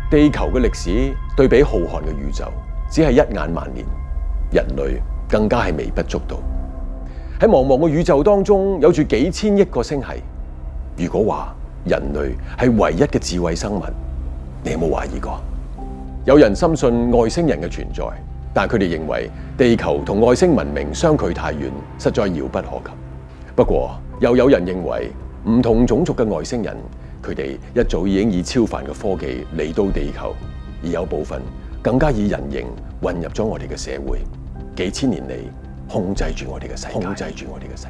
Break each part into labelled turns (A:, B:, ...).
A: 地球嘅歷史對比浩瀚嘅宇宙，只係一眼萬年，人類更加係微不足道。喺茫茫嘅宇宙當中，有住幾千億個星系。如果話人類係唯一嘅智慧生物，你有冇懷疑過？有人深信外星人嘅存在，但佢哋認為地球同外星文明相距太遠，實在遙不可及。不過，又有人認為唔同種族嘅外星人，佢哋一早已經以超凡嘅科技嚟到地球，而有部分更加以人形混入咗我哋嘅社會，幾千年嚟控制住我哋嘅世界。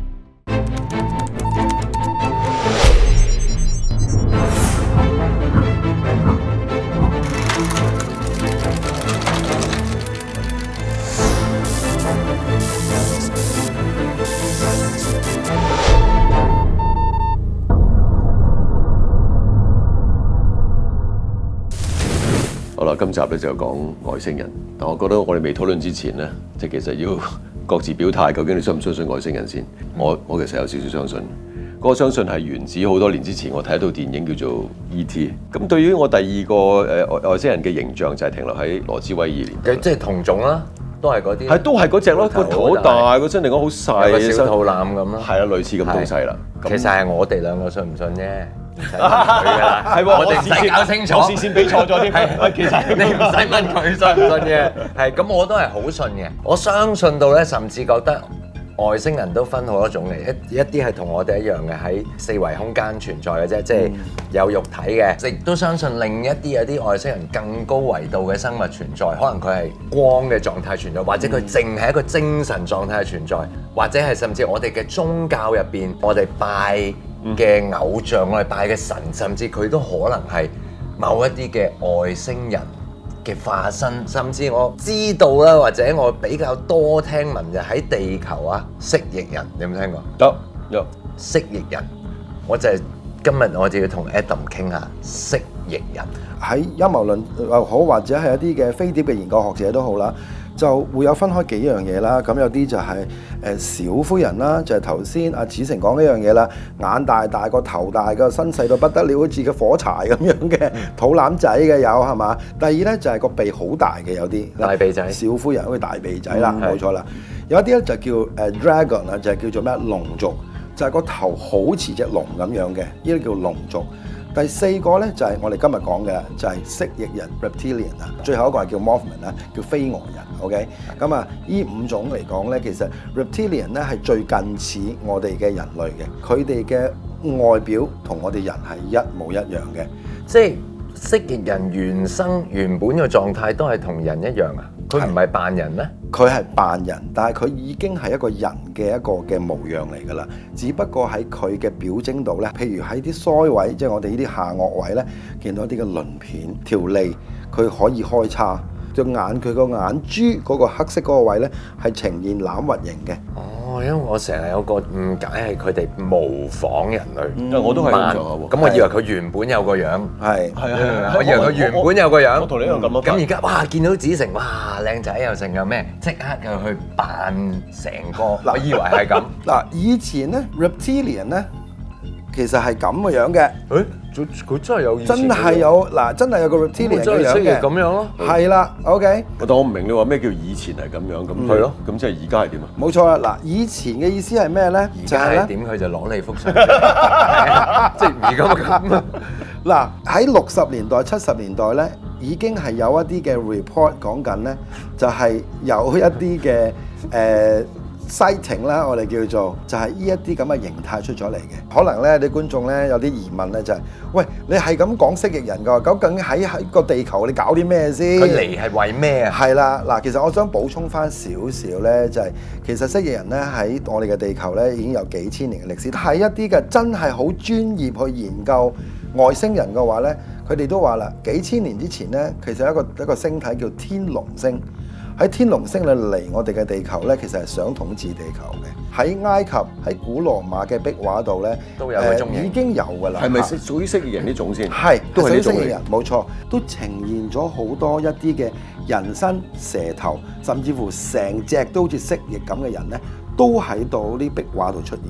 A: 好啦，今集咧就講外星人。但我覺得我哋未討論之前咧，即係其實要各自表態，究竟你相唔相信外星人先？我其實有少少相信。嗰個相信係源自好多年之前，我睇一套電影叫做 E.T. 咁對於我第二個外星人嘅形象就係停留喺羅茲威爾年代，
B: 即係同種啦，都係嗰啲。
A: 係都係嗰隻咯，個頭好大，個身嚟講好細，
B: 個小肚腩咁咯。
A: 係啊，類似咁東西啦。
B: 其實係我哋兩個信唔信啫。唔使問佢㗎啦，係喎，我哋唔使搞清楚，
A: 我視線俾錯咗添。
B: 係，其實你唔使問佢信唔信嘅，係咁我都係好信嘅。我相信到咧，甚至覺得外星人都分好多種嚟，一啲係同我哋一樣嘅喺四維空間存在嘅啫，即係有肉體嘅。亦都相信另一啲有啲外星人更高維度嘅生物存在，可能佢係光嘅狀態存在，或者佢淨係一個精神狀態嘅存在，或者係甚至我哋嘅宗教入邊，我哋拜嘅偶像，我哋拜嘅神，甚至佢都可能係某一啲嘅外星人嘅化身，甚至我知道啦，或者我比較多聽聞就喺地球啊，蜥蜴人，你有冇聽過？
A: 有
B: 蜥蜴人，我就係今日我就要同 Adam 傾下蜥蜴人。
C: 喺陰謀論又好，或者係一啲嘅飛碟嘅研究學者都好啦，就會有分開幾樣嘢啦。咁有啲就係小灰人啦，就係頭先阿子成講呢樣嘢啦，眼大大個頭大個身細到不得了，好似個火柴咁樣嘅肚腩仔嘅有係嘛？第二咧就係個鼻好大嘅有啲
B: 大鼻仔，
C: 小灰人好似大鼻仔啦，冇錯啦。有一啲咧就叫dragon 啊，就係叫做咩龍族，就係個頭好似隻龍咁樣嘅，呢啲叫龍族。第四個咧就係我哋今日講嘅，就係蜥蜴人 reptilian 啊，最後一個係叫 mothman 啦，叫飛蛾人。OK， 咁啊，呢五種嚟講咧，其實 reptilian 咧係最近似我哋嘅人類嘅，佢哋嘅外表同我哋人係一模一樣嘅，
B: 即係蜥蜴人原本嘅狀態都係同人一樣啊？佢唔係扮人咩？
C: 佢係扮人，但係佢已經係一個人嘅一個嘅模樣嚟㗎啦。只不過喺佢嘅表徵度咧，譬如喺啲腮位，即係我哋呢啲下顎位咧，見到啲嘅鱗片、條脷，佢可以開叉。隻眼佢個眼珠嗰個黑色嗰個位咧，係呈現欖核形嘅。
B: 哦，因為我成日有個誤解係佢哋模仿人類，
A: 我都係咁做喎。
B: 咁我以為佢原本有個樣，
C: 係
B: 我以為佢原本有個樣。
A: 我同你一樣咁咯。
B: 咁而家哇，見到子成哇靚仔又成又咩，即刻又去扮成個。我以為係咁。
C: 嗱，以前咧 reptilian 咧，其實係咁嘅樣嘅。
B: 佢真係有以前
C: 真係有嗱，真係有個 reptilian 嘅樣嘅，
B: 咁樣咯。
C: 係啦 ，OK。
A: 但我唔明你話咩叫以前係咁樣，咁
B: 係咯，
A: 咁即係而家係點啊？
C: 冇錯啦，嗱，以前嘅意思係咩咧？
B: 而家係點佢就攞你幅相，即係而家咁。
C: 嗱，喺60年代、70年代咧，已經係有一啲嘅 report 講緊咧，就係有一啲嘅sighting 啦，我哋叫做就係呢一啲咁嘅形態出咗嚟嘅。可能咧，啲觀眾咧有啲疑問咧，就係喂，你係咁講蜥蜴人㗎，究竟喺個地球你搞啲咩先？
B: 佢嚟係為咩啊？
C: 係啦，嗱，其實我想補充翻少少咧，就係其實蜥蜴人咧喺我哋嘅地球咧已經有幾千年嘅歷史，係一啲嘅真係好專業去研究外星人嘅話咧，佢哋都話啦，幾千年之前咧，其實一個星體叫天龍星。喺天龍星嚟我哋嘅地球咧，其實係想統治地球嘅。喺埃及、喺古羅馬嘅壁畫度咧，
B: 都有嗰種
C: 已經有㗎啦。
A: 係咪屬於蜥蜴人呢種先？
C: 係，
A: 都係呢種
C: 蜥蜴人，冇錯，都呈現咗好多一啲嘅人身、蛇頭，甚至乎成隻都好似蜥蜴咁嘅人咧，都喺度啲壁畫度出現嘅。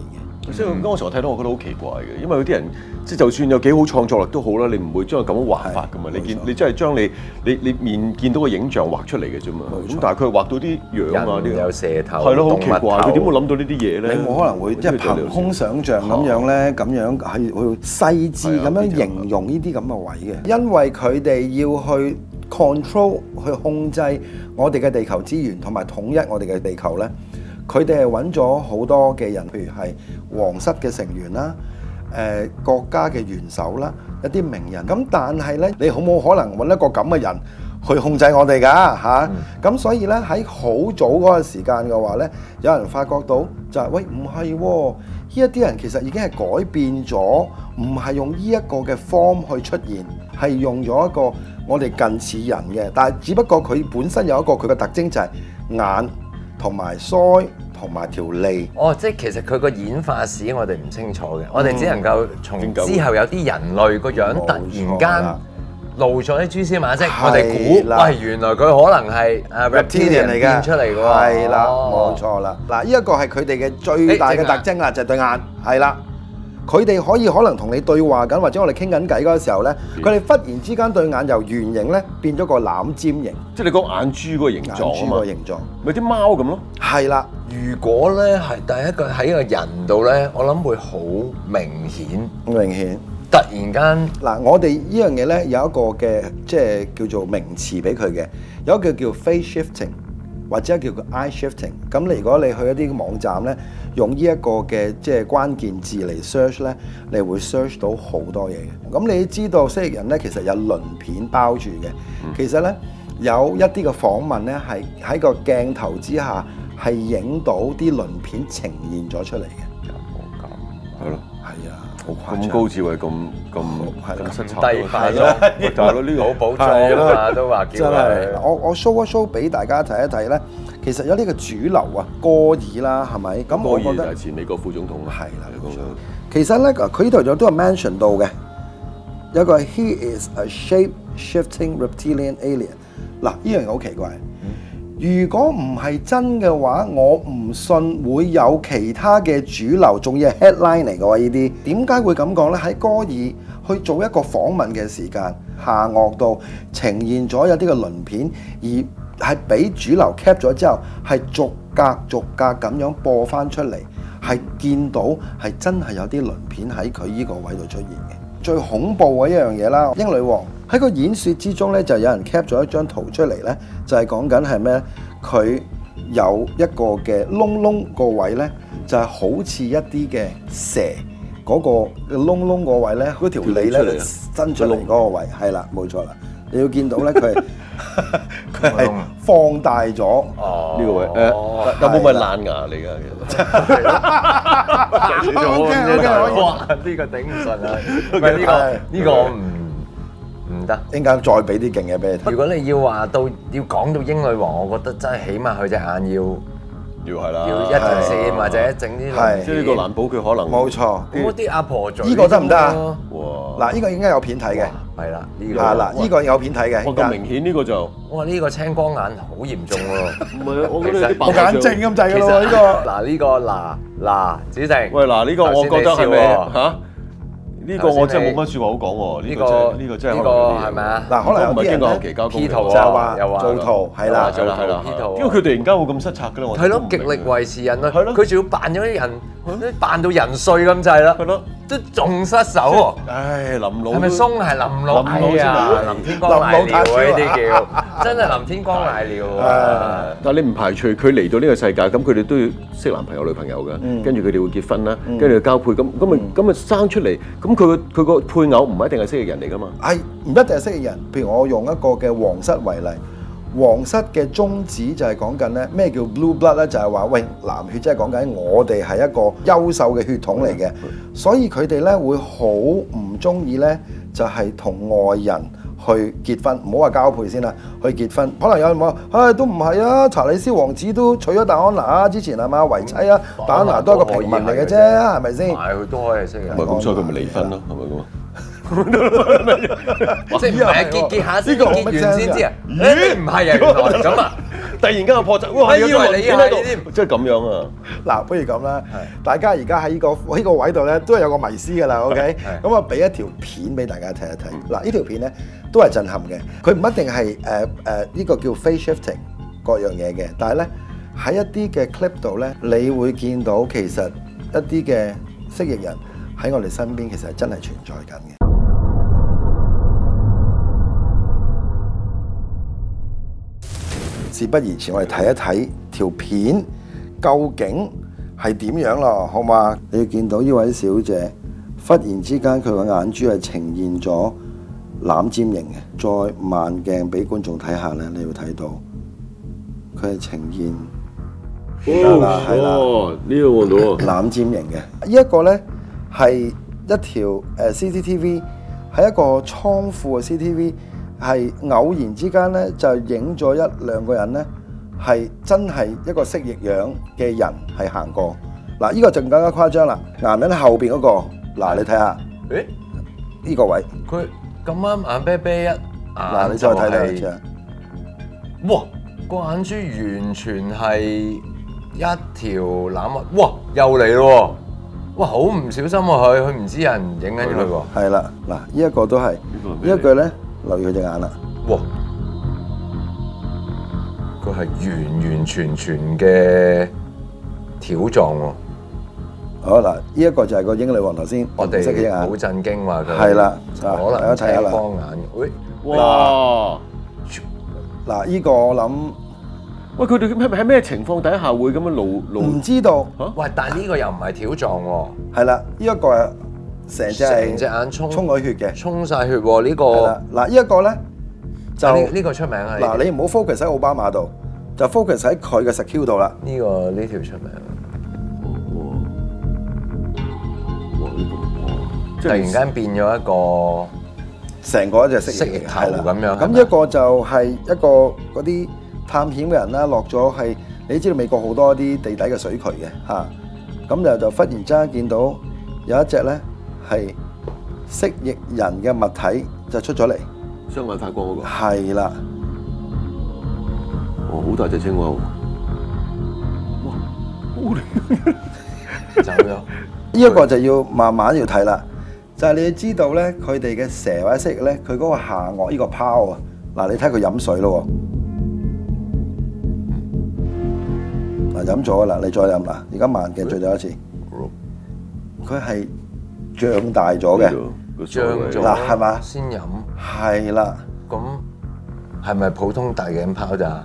A: 所以嗰陣時我睇到，我覺得好奇怪嘅，因為有啲人即係就算有幾好創作力都好啦，你唔會將佢咁樣畫法噶嘛。你真係將你面見到個影像畫出嚟嘅啫嘛。咁但係佢畫到啲樣啊，啲
B: 有蛇頭，
A: 係咯，好奇怪，佢點會諗到呢啲嘢咧？
C: 你冇可能會即係憑空想像咁樣咧，咁樣係去細緻咁樣形容呢啲咁嘅位嘅，因為佢哋要去 control 去控制我哋嘅地球資源同埋統一我哋嘅地球咧。佢哋係揾咗好多嘅人，譬如係皇室嘅成員啦、國家嘅元首啦、一啲名人。咁但係咧，你好冇可能揾一個咁嘅人去控制我哋㗎嚇。咁所以咧喺好早嗰個時間嘅話咧，有人發覺到就係、喂唔係喎，呢一啲人其實已經係改變咗，唔係用呢一個嘅 form 去出現，係用咗一個我哋近似人嘅，但係只不過佢本身有一個佢嘅特徵就係眼。同埋腮同埋條脷。
B: 哦，即係其實佢個演化史我哋唔清楚嘅，我哋只能夠從之後有啲人類個樣突然間露咗啲蛛絲馬跡，我哋估喂原來佢可能係reptilian 嚟嘅變出嚟嘅喎。
C: 係啦，冇錯啦。嗱，呢一個係佢哋嘅最大嘅特徵啦，就係對眼。係啦。佢哋可能同你對話緊，或者我哋傾緊偈嗰個時候咧，佢哋忽然之間對眼由圓形咧變咗個欖尖形，
A: 即係你講眼珠嗰個形狀啊嘛，
C: 眼珠個形狀，
A: 咪啲貓咁咯。
C: 係啦，
B: 如果咧係第一個喺個人度咧，我諗會好明顯，
C: 明顯。
B: 突然間
C: 嗱，我哋呢樣嘢咧有一個嘅即係叫做名詞俾佢嘅，有一個叫 face shifting。或者叫做 eye shifting， 咁你如果你去一啲網站咧，用呢一個嘅即係關鍵字嚟 search 咧，你會 search 到好多嘢嘅。咁你知道蜥蜴人咧其實有鱗片包住嘅，其實咧有一啲嘅訪問咧係喺個鏡頭之下係影到啲鱗片呈現咗出嚟嘅。
B: 有冇咁？
A: 係咯，
C: 係啊。
A: 咁高智慧咁失策
B: 低化咗，
A: 就係咯，呢個
B: 好保障啊，都話叫佢。
C: 我 show 一 show 俾大家睇一睇咧，其實有呢個主流啊，戈爾啦，係咪？咁我覺得
A: 戈爾就係前美國副總統啦。
C: 係啦，其實咧，佢呢度有都係 mention 到嘅，有個 He is a shape-shifting reptilian alien。嗱，呢樣嘢好奇怪。如果唔係真嘅話，我唔信會有其他嘅主流，仲要係 headline 嚟嘅喎。呢啲點解會咁講呢？喺戈爾去做一個訪問嘅時間，下顎度呈現咗有啲嘅鱗片，而係俾主流 cap 咗之後，係逐格逐格咁樣播翻出嚟，係見到係真係有啲鱗片喺佢呢個位度出現嘅。最恐怖嘅一樣嘢啦，英女王喺個演說之中咧，就有人 cap 咗一張圖出嚟咧，就係講緊係咩？佢有一個嘅窿個位咧，就係好似一啲嘅蛇嗰個窿個位咧，嗰條脷咧伸出嚟嗰個位，係啦，冇錯啦。你要見到咧，佢係放大咗
A: 呢個位。有冇咪爛牙嚟㗎？其實
B: 哇！呢個頂唔順啊！唔係呢個我唔得。
C: 應該再俾啲勁嘢俾你睇。
B: 如果你要話到要講到英女王，我覺得真係起碼佢隻眼
A: 要係啦，
B: 要一條線或者整啲，
A: 即係呢個難保佢可能
C: 冇錯。
B: 咁啲阿婆嘴
C: 呢個得唔得啊？
A: 哇！
C: 嗱，呢個應該有片睇嘅。
B: 係啦，呢個
C: 係啦，呢個有片睇嘅。
A: 我咁明顯呢個就
B: 哇！呢個青光眼好嚴重喎。
A: 唔係，我覺得有啲
C: 我眼症咁滯㗎咯，呢個。
B: 嗱呢個嗱，子靖。
A: 喂，嗱呢個我覺得係咪嚇？呢個我真係冇乜説話好講喎。呢個真係
B: 係咪啊？
C: 嗱，可能有啲人咧
B: P 圖
C: 就話
B: 又話
C: 做圖係啦，
B: 係啦 P 圖。
A: 因為佢突然間會咁失策㗎啦，我
B: 係咯，極力維持人類。
A: 係咯，
B: 佢仲要扮咗啲人，扮到人碎咁滯啦。
A: 係咯，
B: 都仲失手喎。
A: 唉，林老
B: 係咪鬆係林老？係啊，林天光賴尿啊！呢啲叫真係林天光賴尿啊！
A: 但係你唔排除佢嚟到呢個世界，咁佢哋都要識男朋友女朋友㗎，跟住佢哋會結婚啦，跟住交配，咁咪生出嚟，咁佢個配偶唔一定係蜥蜴人嚟㗎嘛？
C: 係唔一定係蜥蜴人？譬如我用一個嘅皇室為例，皇室嘅宗旨就係講緊咧咩叫 blue blood 咧，就係話喂藍血，即係講緊我哋係一個優秀嘅血統嚟嘅，所以佢哋咧會好唔中意咧，就係同外人去結婚，唔好話交配先啦，去結婚。可能有人話，唉，都唔係啊，查理斯王子都娶咗戴安娜啊，之前係嘛為妻啊，戴安娜都係個平民嚟嘅啫，係咪先？
B: 係佢都可以識嘅。
A: 唔係咁，所以佢咪離婚咯，係咪咁啊？
B: 即係唔係啊？結下先，結完先知啊？咦，唔係啊，原來咁啊！
A: 突然間個破綻，哇！有
B: 以為你
A: 片喺度
B: 係添，
A: 即係咁樣啊！
C: 嗱，不如咁啦，大家而家喺呢個位度咧，都係有個迷思㗎啦，OK？咁啊，俾一條片俾大家睇一睇。嗱，呢條片咧都係震撼嘅，佢唔一定係呢個叫 face shifting 各樣嘢嘅，但係咧喺一啲嘅 clip 度咧，你會見到其實一啲嘅蜥蜴人喺我哋身邊，其實係真係存在緊嘅。事不宜遲，我哋睇一睇條片究竟係點樣咯，好嘛？你要見到呢位小姐，忽然之間佢個眼珠係呈現咗攬尖形嘅，再慢鏡俾觀眾睇下咧，你會睇到佢係呈現係啦，
A: 呢個望到啊！
C: 攬尖形嘅，呢一個咧係一條CCTV，係一個倉庫嘅 CCTV。係偶然之間咧，就影咗一兩個人咧，係真係一個蜥蜴樣嘅人係行過。嗱，呢個就更加誇張啦！男人後邊嗰個，嗱你睇下，
B: 誒
C: 呢個位，
B: 佢咁啱眼啤啤一眼，
C: 嗱你再睇睇下，
B: 哇！個眼珠完全係一條攬啊！哇，又嚟咯！哇，好唔小心啊佢唔知有人影緊佢喎。
C: 係啦，嗱呢一個都係，呢一句咧。留意佢隻眼啦！
B: 哇！佢係完完全全嘅條狀喎。
C: 好嗱，呢一個就係個英女王頭先，
B: 我哋好震驚話佢
C: 係啦，
B: 可能睇下啦。光眼，喂！
A: 哇！
C: 嗱，呢個我諗，
A: 喂，佢哋喺咩情況底下會咁樣露？
C: 唔知道。
B: 喂，但係呢個又唔係條狀喎。
C: 係啦，呢一個係。成隻
B: 眼衝
C: 咗血嘅，
B: 衝晒血喎呢個。
C: 嗱，呢一個咧就
B: 呢個出名啊！
C: 嗱，你唔好 focus 喺奧巴馬度，就 focus 喺佢嘅 secure 度啦。
B: 呢條出名。
A: 哇！呢個
B: 突然間變咗一個
C: 成個一隻蜥蜴
B: 頭咁樣。
C: 咁一個就係一個嗰啲探險嘅人啦，落咗係你知道美國好多啲地底嘅水渠嘅嚇，咁就忽然之間見到有一隻咧。係蜥蜴人嘅物體就出咗嚟，
A: 雙眼發光嗰個。
C: 係啦，
A: 哦，好大隻青蛙喎！哇，
B: 走咗。
C: 呢一個就要慢慢要睇啦，就係你要知道咧，佢哋嘅蛇或者蜥蜴咧，佢嗰個下顎呢個泡啊，嗱你睇佢飲水咯，嗱飲咗啦，你再飲啦，而家慢鏡最多一次，佢係。脹大咗嘅，
B: 脹咗
C: 嗱係嘛？
B: 先飲
C: 係啦。
B: 咁係咪普通大頸泡咋？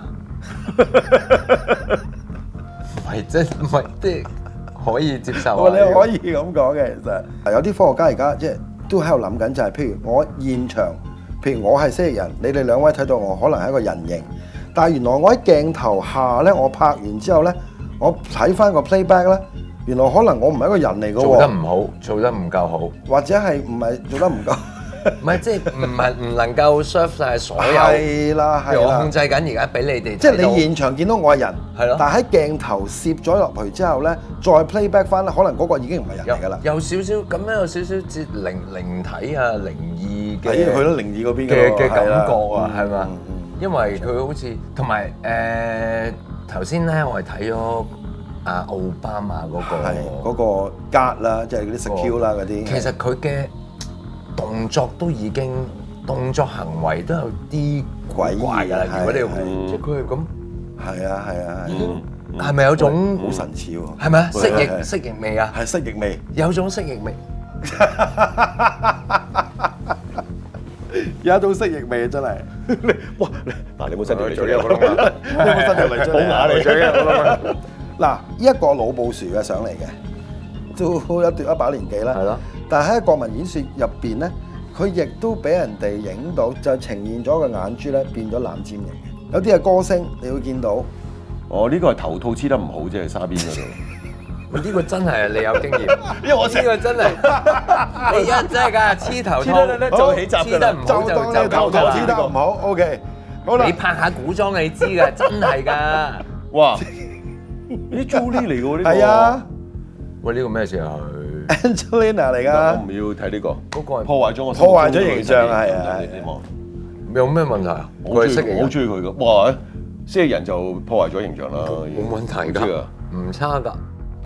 B: 唔係即係可以接受。
C: 你可以咁講嘅，其實有啲科學家而家即係都喺度諗緊，就係譬如我現場，譬如我係蜥蜴人，你哋兩位睇到我可能係一個人形，但係原來我喺鏡頭下咧，我拍完之後咧，我睇翻個 playback 咧。原來可能我唔係一個人嚟嘅喎，
B: 做得唔好，做得唔夠好，
C: 或者係唔係做得唔夠？
B: 唔係即係唔能夠 serve 曬所有。
C: 係啦，係啦。
B: 我控制緊而家俾你哋。
C: 即係你現場見到我係人，
B: 係咯。
C: 但係喺鏡頭攝咗落去之後咧，再 playback 翻咧，可能嗰個已經唔係人嚟㗎啦。
B: 有少少咁樣，有少少似靈體啊、靈異嘅。
C: 係去到靈異嗰邊
B: 嘅感覺啊，係嘛？因為佢好似同埋頭先咧，我係睇咗。奧巴馬嗰個
C: 係嗰個 guard 啦，即係嗰啲 secure 啦嗰啲。
B: 其實佢嘅動作都已經動作行為都有啲
C: 詭異
B: 㗎啦。如果你即係佢係咁，
C: 係啊係啊係。
B: 係咪有種
C: 好神似喎？
B: 係咪啊？蜥蜴味啊？
C: 係蜥蜴味，
B: 有種蜥蜴味。
C: 有一種蜥蜴味真係。
A: 哇！嗱，你冇伸條脷
B: 做呢個窿啊！
C: 你冇伸條脷出嚟？
A: 好牙嚟
B: 做呢個窿啊！
C: 嗱，呢一個老布殊嘅相嚟嘅，都一把年紀啦。
B: 係咯。
C: 但係喺國民演説入邊咧，佢亦都俾人哋影到，就呈現咗個眼珠咧變咗攬尖形嘅。有啲係歌星，你會見到。
A: 哦，呢個係頭套黐得唔好啫，沙邊嗰度。
B: 呢個真係你有經驗，因為我呢個真係你一真係㗎黐頭套
A: 做起集
B: 黐得唔好就
C: 當你頭套黐得唔好。OK， 好啦。
B: 你拍下古裝你知㗎，真係㗎。
A: 哇！啲 Julie 嚟㗎喎呢個。
C: 係啊。
B: 喂，呢個咩事啊？佢
C: Angelina 嚟㗎。
A: 我唔要睇呢個。
B: 嗰個係
A: 破壞咗我。
C: 破壞咗形象係啊。
B: 有咩問題啊？
A: 我好中意佢㗎。哇！ 蜥蜴人就破壞咗形象啦，
B: 冇問題㗎
A: 唔知啊，
B: 唔差㗎。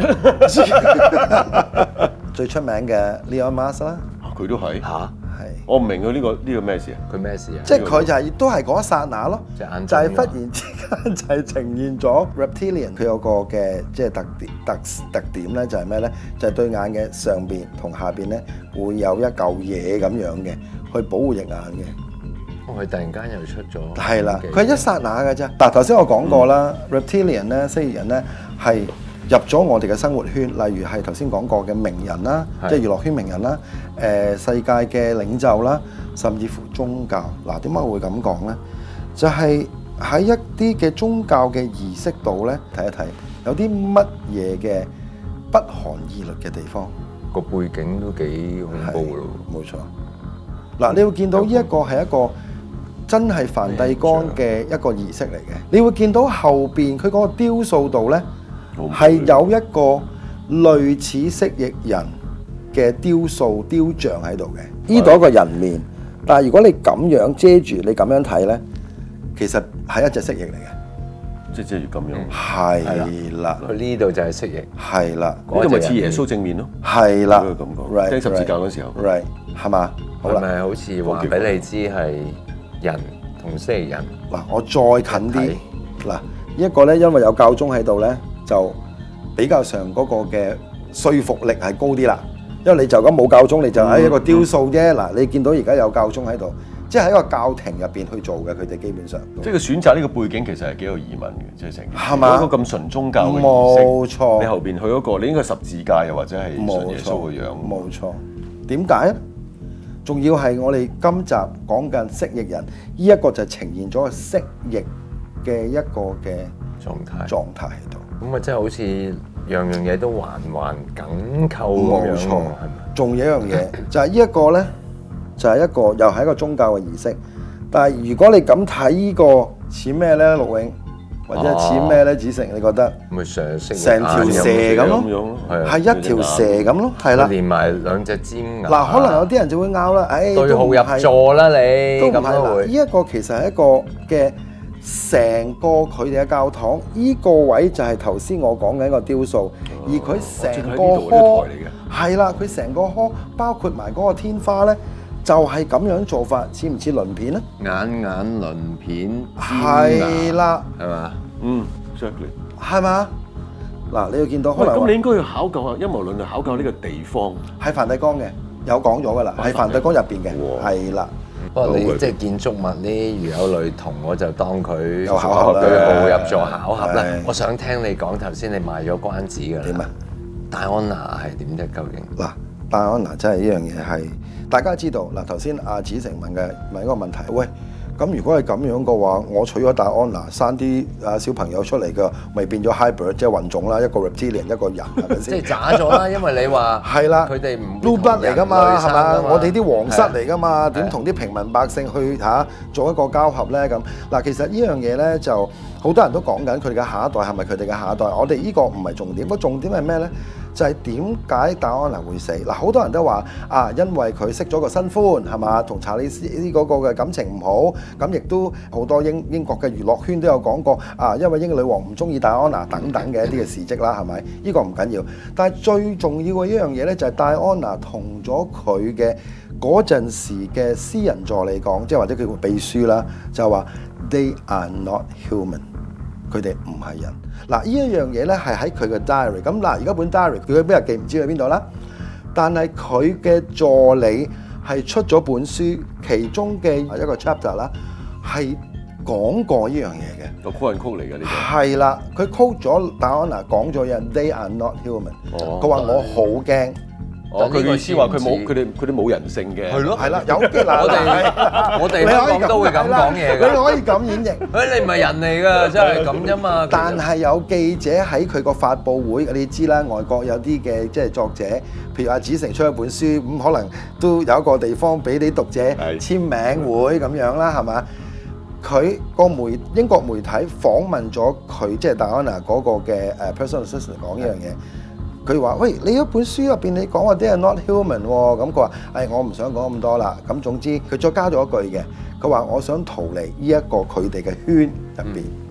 C: 最出名嘅 Elon Musk 啦，
A: 佢都係。
B: 嚇，
C: 係
A: 我唔明佢呢個咩事啊？
B: 佢咩事啊？
C: 即係佢就係都係嗰一剎那咯，
B: 隻眼
C: 就係
B: 腫㗎
C: 忽然之間就係呈現咗 reptilian 佢有個嘅即係特點咧，就係咩咧？就係對眼嘅上邊同下邊咧會有一嚿嘢咁樣嘅，去保護隻眼嘅。
B: 哦，佢突然間又出咗。
C: 係啦，佢係一剎那嘅啫。嗱，頭先我講過啦，reptilian 咧，蜥蜴人咧係入咗我哋嘅生活圈，例如係頭先講過嘅名人啦，即係娛樂圈名人啦，世界嘅領袖啦，甚至乎宗教。嗱，點解我會咁講咧？就係喺一啲嘅宗教嘅儀式度咧，睇一睇有啲乜嘢嘅不寒而栗嘅地方。
B: 個背景都幾恐怖咯。
C: 冇錯。嗱，你會見到呢一個係一個真係梵蒂岡嘅一個儀式嚟嘅。你會見到後邊佢嗰個雕塑度咧，係有一個類似蜥蜴人嘅雕像喺度嘅。呢度一個人面，但係如果你咁樣遮住，你咁樣睇咧，其實係一隻蜥蜴嚟嘅。
A: 即係咁樣。
C: 係啦，
B: 佢呢度就係蜥蜴。
C: 係啦，
A: 呢個咪似耶穌正面咯。
C: 係啦，
A: 咁講。釘十字架嗰時候。
C: right 係嘛？好啦，
B: 係咪好似話俾你知係人同蜥蜴人？
C: 嗱，我再近啲。嗱，呢一個咧，因為有教宗喺度咧，就比較上嗰個嘅說服力係高啲啦。因為你就咁冇教宗，你就喺一個雕塑啫。嗱，你見到而家有教宗喺度，即係喺個教廷入邊去做嘅，佢哋基本上。
A: 即係佢選擇呢個背景其實係幾有疑問嘅，即係成件事。
C: 係嘛？
A: 一個咁純宗教嘅儀式，
C: 冇錯。
A: 你後邊去嗰個，你應該十字架又或者係信耶穌嘅樣。
C: 冇錯。點解咧？仲要係我哋今集講緊蜥蜴人，呢一個就呈現咗個蜥蜴嘅一個嘅狀態喺度。
B: 咁啊，即係好似樣樣嘢都環環緊扣咁樣。
C: 冇錯，
B: 係咪？
C: 仲有一樣嘢就係呢一個咧，就係一個又係一個宗教嘅儀式。但係如果你咁睇呢個似咩咧，陸永或者似咩咧，子成？你覺得？
B: 咪成
C: 條蛇咁咯，係一條蛇咁咯，係啦。
B: 連埋兩隻尖牙。
C: 嗱，可能有啲人就會拗啦，
B: 對號入座啦你，
C: 都唔係
B: 咁都會。
C: 呢一個其實係一個嘅成個佢哋嘅教堂，呢個位就係頭先我講緊一個雕塑，而佢成個殼係啦，佢成個殼包括埋嗰個天花咧，就係咁樣做法，似唔似鱗片咧？
B: 眼鱗片，
C: 係啦，
B: 係嘛？
A: 嗯 ，exactly，
C: 係嘛？嗱，你要見到可能
A: 咁你應該要考究下陰謀論，去考究呢個地方。
C: 喺梵蒂岡嘅，有講咗噶啦，喺梵蒂岡入邊嘅，係啦。
B: 不過你即係建築物呢，如有類同，我就當佢
C: 有巧合啦，
B: 對號入座巧合啦
C: 係。
B: 我想聽你講頭先，你賣咗關子㗎啦。
C: 點啊？
B: 戴安娜係點啫？究竟？
C: 嗱，戴安娜真係呢樣嘢係大家知道。嗱，頭先阿子成問一個問題，喂，咁如果係咁樣嘅話，我娶咗戴安娜，生啲小朋友出嚟嘅，咪變咗 hybrid，即係混種啦，一個 reptilian，一個人，係咪先？
B: 即係渣咗啦，因為你話
C: 係啦，
B: 佢哋唔
C: blue blood 嚟㗎嘛，係嘛？我哋啲皇室嚟㗎嘛，點同啲平民百姓去做一個交合咧？咁嗱，其實呢樣嘢咧就好多人都講緊佢哋嘅下一代係咪佢哋嘅下一代？我哋呢個唔係重點，個重點係咩咧？就係點解戴安娜會死？嗱，好多人都話因為佢識咗個新歡係嘛，同查理斯呢嗰個嘅感情唔好，咁亦都好多英國嘅娛樂圈都有講過因為英女王唔中意戴安娜等等嘅一啲嘅事蹟啦，係咪？呢個唔緊要，但係最重要嘅一樣嘢咧，就係戴安娜同咗佢嘅嗰陣時嘅私人助理講，即係或者佢個秘書啦，就話 They are not human。佢哋唔係人。嗱，呢一樣嘢咧係喺佢嘅 diary。咁嗱，而家本 diary 佢邊日記唔知去邊度啦。但係佢嘅助理係出咗本書，其中嘅一個 chapter 啦，係講過呢樣嘢嘅。
A: 個 quote 嚟嘅呢個。
C: 係啦，佢 quote 咗戴安娜講咗嘢 ，They are not human。佢話我好驚。
A: 佢意思話佢哋冇人性嘅。
C: 係咯，係啦，有啲嗱，
B: 我哋香港都會咁講嘢㗎。
C: 你可以咁演繹。
B: 你唔係人嚟㗎，真係咁啫嘛。
C: 但係有記者喺佢個發佈會，你知啦，外國有啲嘅即係作者，譬如阿子成出一本書，咁可能都有一個地方俾啲讀者簽名會咁樣啦，係嘛？佢個英國媒體訪問咗佢，即係戴安娜嗰個嘅personal assistant 講呢樣嘢。佢話：喂，你一本書入邊你講話啲係 not human 喎，咁佢話：我唔想講咁多啦。咁總之佢再加咗一句嘅，佢話：我想逃離呢一個佢哋嘅圈入邊。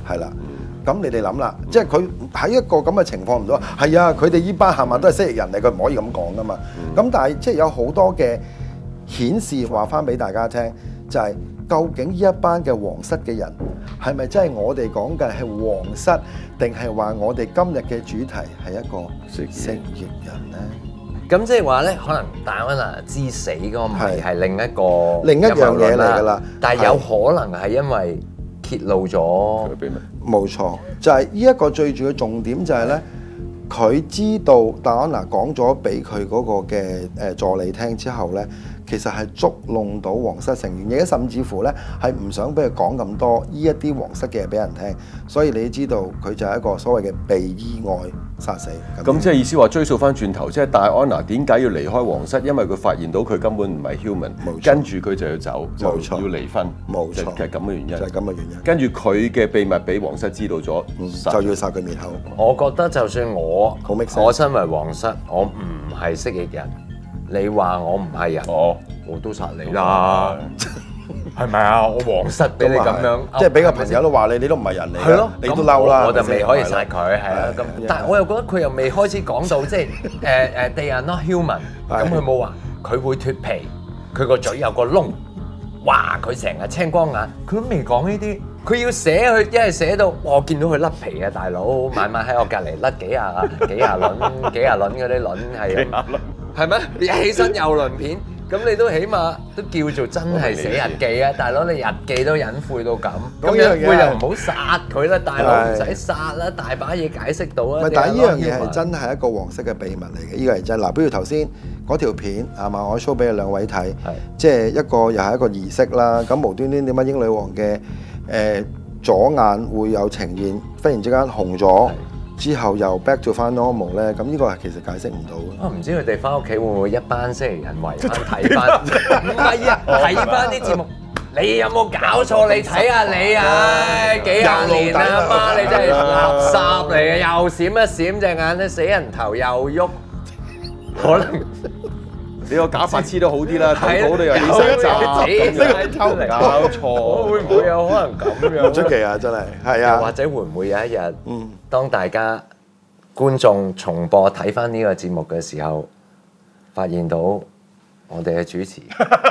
C: 係啦。咁你哋諗啦，即係佢喺一個咁嘅情況唔到，係啊，佢哋依班係咪都係蜥蜴人嚟？佢唔可以咁講噶嘛。咁但係即係有好多嘅顯示話翻俾大家聽，就係究竟呢一班嘅皇室嘅人係咪真係我哋講嘅係皇室，定係話我哋今日嘅主題係一個蜥蜴人呢？
B: 咁即係話咧，可能戴安娜之死嗰個謎係另一
C: 樣嘢嚟㗎啦，
B: 但係有可能係因為揭露咗
A: 秘密。
C: 冇錯，就係呢一個最主要嘅重點就係咧，佢知道戴安娜講咗俾佢嗰個嘅助理聽之後咧，其實係捉弄到皇室成員，而且甚至乎咧係唔想俾佢講咁多呢一啲皇室嘅嘢俾人聽，所以你知道佢就係一個所謂嘅被意外殺死。
A: 咁即係意思話追溯翻轉頭，即係戴安娜點解要離開皇室？因為佢發現到佢根本唔係 human，跟住佢就要走，就要離婚。
C: 冇錯，
A: 就係咁嘅原因。
C: 就係咁嘅原因。
A: 跟住佢嘅秘密俾皇室知道咗，
C: 就要殺佢滅口。
B: 我覺得就算我身為皇室，我唔係蜥蜴人，你話我唔係人，我都殺你啦，係咪啊？我皇室俾你咁樣，
C: 即係俾個朋友都話你都唔係人嚟，
B: 係咯，
C: 你都嬲啦，
B: 我就未可以殺佢，係啦。咁但係我又覺得佢又未開始講到即係they are not human，咁佢冇話佢會脫皮，佢個嘴有個窿，哇！佢成日青光眼，佢都未講呢啲。佢要寫佢，一係寫到我見到佢甩皮啊，大佬，晚晚喺我隔離甩幾廿輪嗰啲輪係啊，係咩？你一起身有輪片，咁你都起碼都叫做真係寫日記啊，大佬你日記都隱晦到咁，咁隱晦就唔好殺佢啦，大佬唔使殺啦，大把嘢解釋到啊。
C: 但係呢樣嘢係真係一個皇室嘅秘密嚟嘅，呢個係真。嗱，比如頭先嗰條片係嘛，我 show 俾你兩位睇，即係一個又係一個儀式啦。咁無端端點解英女王嘅左眼會有呈現，忽然之間紅咗，之後又 back to 翻 normal 咧？咁呢個係其實解釋唔到。
B: 唔知佢哋翻屋企會唔會一班蜥蜴人圍翻睇翻？唔係啊，睇翻啲節目。你有冇搞錯？你睇下你啊，幾廿年啦，阿媽你真係垃圾嚟嘅，又閃一閃隻眼，啲死人頭又喐，可能。
A: 你個假髮黐得好啲啦，睇到你又起身走，搞錯，
B: 會唔會有可能咁樣？
C: 唔出奇啊，真係，係啊。
B: 或者會唔會有一日，當大家觀眾重播睇翻呢個節目嘅時候，發現到我哋嘅主持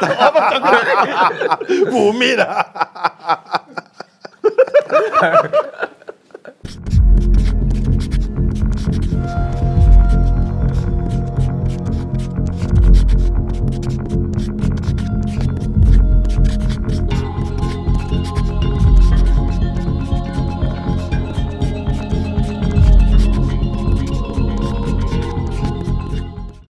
C: 污蔑啊！